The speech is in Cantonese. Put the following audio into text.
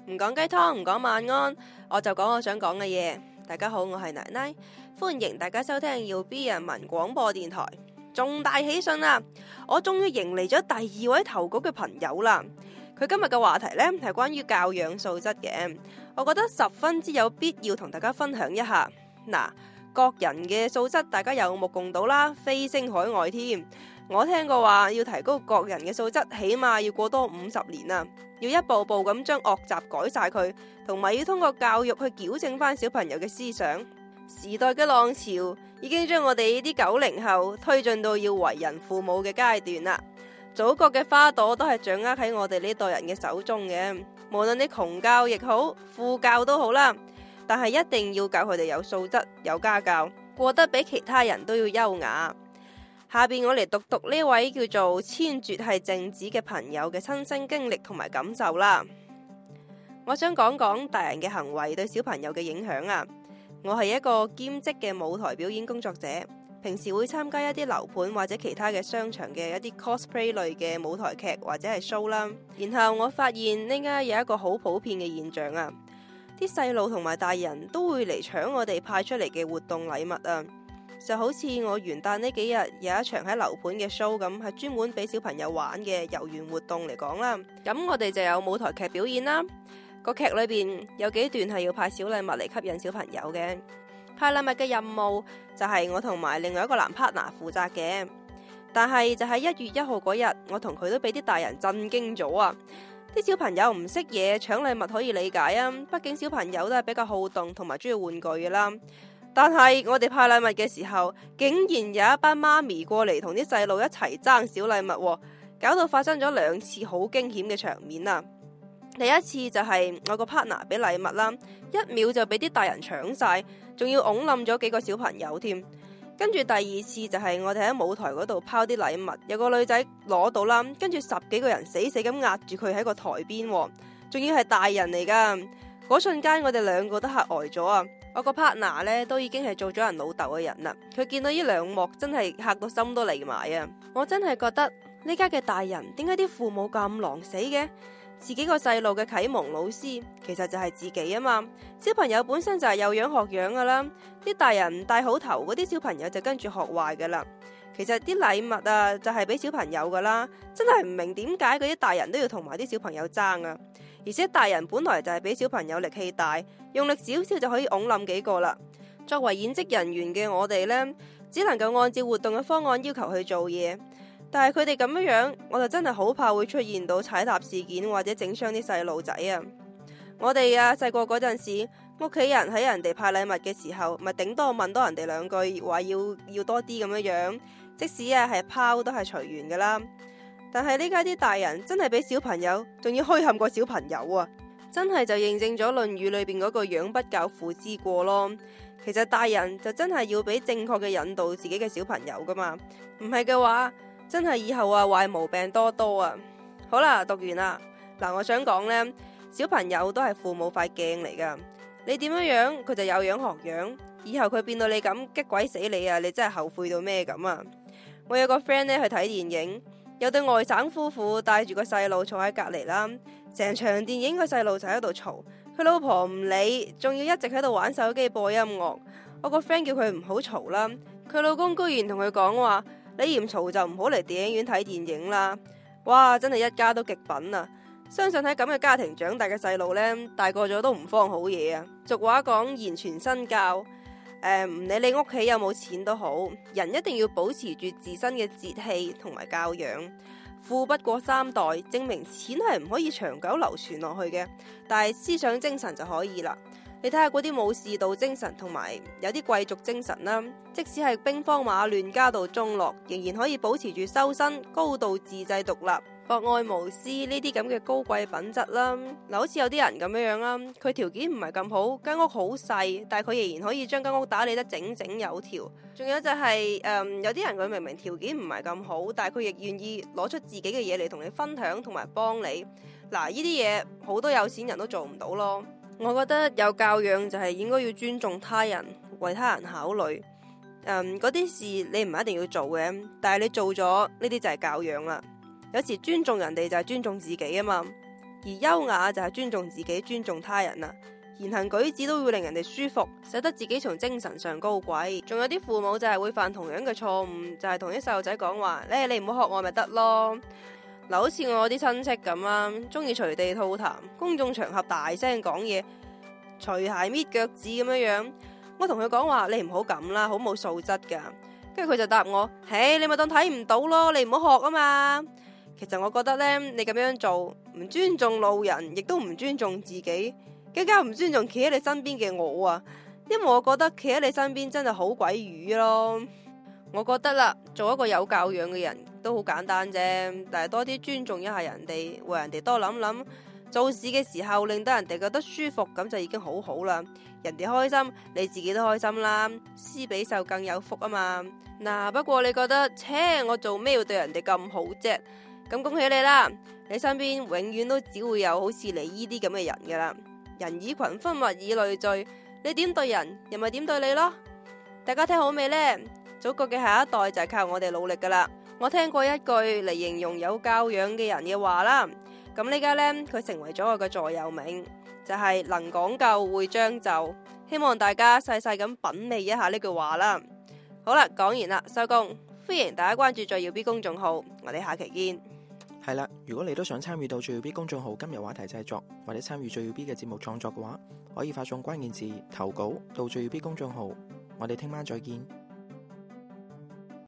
唔講雞湯，唔講晚安，我就講我想講嘅嘢。大家好，我係奶奶，歡迎大家收聽耀 B 人民廣播電台。重大喜訊啦！我終於迎嚟咗第2位投稿嘅朋友啦。佢今日嘅話題呢係關於教養素質嘅，我覺得十分之有必要同大家分享一下。嗱，各人嘅素質大家有目共睹啦，飛升海外添。我聽過話要提高各人嘅素質，起碼要過多50年啊！要一步步咁將惡習改晒佢，同埋要通過教育去矯正翻小朋友嘅思想。時代嘅浪潮已經將我哋呢啲90後推進到要為人父母嘅階段啦。祖國嘅花朵都係掌握喺我哋呢代人嘅手中嘅，無論你窮教亦好，富教都好啦。但係一定要教佢哋有素質、有家教，過得比其他人都要優雅。下邊我嚟讀呢位叫做千絕係靜子嘅朋友嘅親身經歷同埋感受啦。我想講講大人嘅行為對小朋友嘅影響啊。我係一個兼職嘅舞台表演工作者，平時會參加一啲樓盤或者其他嘅商場嘅一啲 cosplay 類嘅舞台劇或者係 show 啦。然後我發現呢家有一個好普遍嘅現象啊，啲細路同埋大人都會嚟搶我哋派出嚟嘅活動禮物啊。就好似我元旦呢幾日有一場喺樓盤嘅 show 咁，係專門俾小朋友玩嘅遊園活動嚟講啦。咁我哋就有舞台劇表演啦。個劇裏邊有幾段係要派小禮物嚟吸引小朋友嘅。派禮物嘅任務就係我同埋另外一個男 partner 負責嘅。但係就喺1月1號嗰日，我同佢都俾啲大人震驚咗啊！啲小朋友唔識嘢，搶禮物可以理解啊，畢竟小朋友都係比較好動同埋中意玩具嘅啦。但係我哋派禮物嘅時候，竟然有一班媽咪過嚟同啲細路一齊爭小禮物，搞到發生咗2次好驚險嘅場面啊！第一次就係我個 partner 俾禮物啦，1秒就俾啲大人搶晒，仲要拱冧咗幾個小朋友添。跟住第2次就係我哋喺舞台嗰度拋啲禮物，有個女仔攞到啦，跟住10幾個人死死咁壓住佢喺個台邊，仲要係大人嚟噶。嗰瞬間我哋2個都嚇呆咗啊！我個 partner 呢都已經係做咗人老豆嘅人啦，佢見到呢2幕真係嚇到心都離埋啊！我真係覺得呢家嘅大人點解啲父母咁狼死嘅？自己個細路嘅啟蒙老師其實就係自己啊嘛。小朋友本身就係有樣學樣噶啦，啲大人帶好頭，嗰啲小朋友就跟住學壞噶啦。其實啲禮物啊就係俾小朋友噶啦，真係唔明點解嗰啲大人都要同埋啲小朋友爭啊！而且大人本來就係俾小朋友力氣大，用力少少就可以拱冧幾個啦。作為演職人員嘅我哋呢，只能夠按照活動嘅方案要求去做嘢。但係佢哋咁樣，我就真係好怕會出現到踩踏事件或者整傷啲細路仔啊！我哋啊細個嗰陣時，屋企人喺人哋派禮物嘅時候，咪頂多問多人哋2句，話要多啲咁樣，即使啊係拋都係隨緣噶啦。但係呢家啲大人真係俾小朋友，仲要虛陷過小朋友啊！真係就認證咗《論語》裏邊嗰個養不教父之過咯。其實大人就真係要俾正確嘅引導自己嘅小朋友噶嘛，唔係嘅話，真係以後啊壞毛病多多啊！好啦，讀完啦。嗱，我想講呢，小朋友都係父母塊鏡嚟噶，你點樣佢就有樣學樣，以後佢變到你咁激鬼死你啊！你真係後悔到咩咁啊！我有個 friend 呢去睇電影，有對外省夫婦帶住個細路坐喺隔籬啦，成場電影個細路就喺度嘈，佢老婆唔理，仲要一直喺度玩手機播音樂。我個 friend 叫佢唔好嘈啦，佢老公居然同佢講話：你嫌嘈就唔好嚟電影院睇電影啦！哇，真係一家都極品啊！相信喺咁嘅家庭長大嘅細路呢，大個咗都唔慌好嘢啊！俗話講言傳身教，唔理你屋企有冇錢都好，人一定要保持住自身嘅節氣同埋教養。富不過3代，證明錢係唔可以長久流傳落去嘅，但係思想精神就可以啦。你睇下嗰啲武士道精神同埋有啲貴族精神啦，即使係兵荒馬亂、家道中落，仍然可以保持住修身、高度自制獨立、博愛無私呢啲咁嘅高貴品質啦。嗱，好似有啲人咁樣啦，佢條件唔係咁好，間屋好細，但係佢仍然可以將間屋打理得整整有條。仲有就係有啲人佢明明條件唔係咁好，但係佢亦願意攞出自己嘅嘢嚟同你分享同埋幫你。嗱，呢啲嘢好多有錢人都做唔到咯。我覺得有教養就係應該要尊重他人，為他人考慮。嗰啲事你唔一定要做嘅，但係你做咗呢啲就係教養啦。有時尊重人哋就係尊重自己啊嘛。 而優雅就係尊重自己、尊重他人啦。言行舉止都會令人哋舒服，使得自己從精神上高貴。仲有啲父母就係會犯同樣嘅錯誤，就係同啲細路仔講話，你唔好學我咪得咯。嗱，好似我啲親戚咁啦，中意隨地吐痰，公眾場合大聲講嘢，除鞋搣腳趾咁樣。我同佢講話，你唔好咁啦，好冇素質噶。跟住佢就答我，你咪當睇唔到咯，你唔好學啊嘛。其實我覺得呢，你咁樣做唔尊重路人，亦都唔尊重自己，更加唔尊重企喺你身邊嘅我啊。因為我覺得企喺你身邊真係好鬼魚咯。我覺得啦，做一個有教養嘅人都好簡單啫，但係多啲尊重一下人哋，為人哋多諗諗，做事嘅時候令到人哋覺得舒服，咁就已經好好啦。人哋開心，你自己都開心啦，施比受更有福啊嘛。嗱，不過你覺得，我做咩要對人哋咁好啫？咁恭喜你啦，你身邊永遠都只會有好似你呢啲咁嘅人噶啦。人以群分，物以類聚，你點對人，人咪點對你咯。大家聽好未呢？祖國嘅下一代就係靠我哋努力噶啦。我聽過一句嚟形容有教養嘅人嘅話啦，咁呢家呢，佢成為咗我嘅座右銘，就係能講究會將就。希望大家細細咁品味一下呢句話啦。好啦，講完啦，收工。歡迎大家關注最耀 B 公眾號，我哋下期見。 係啦，如果你都想參與到最耀 B 公眾號今日話題製作，或者參與最耀 B 嘅節目創作嘅話，可以發送關鍵字投稿到最耀 B 公眾號。我哋聽晚再見。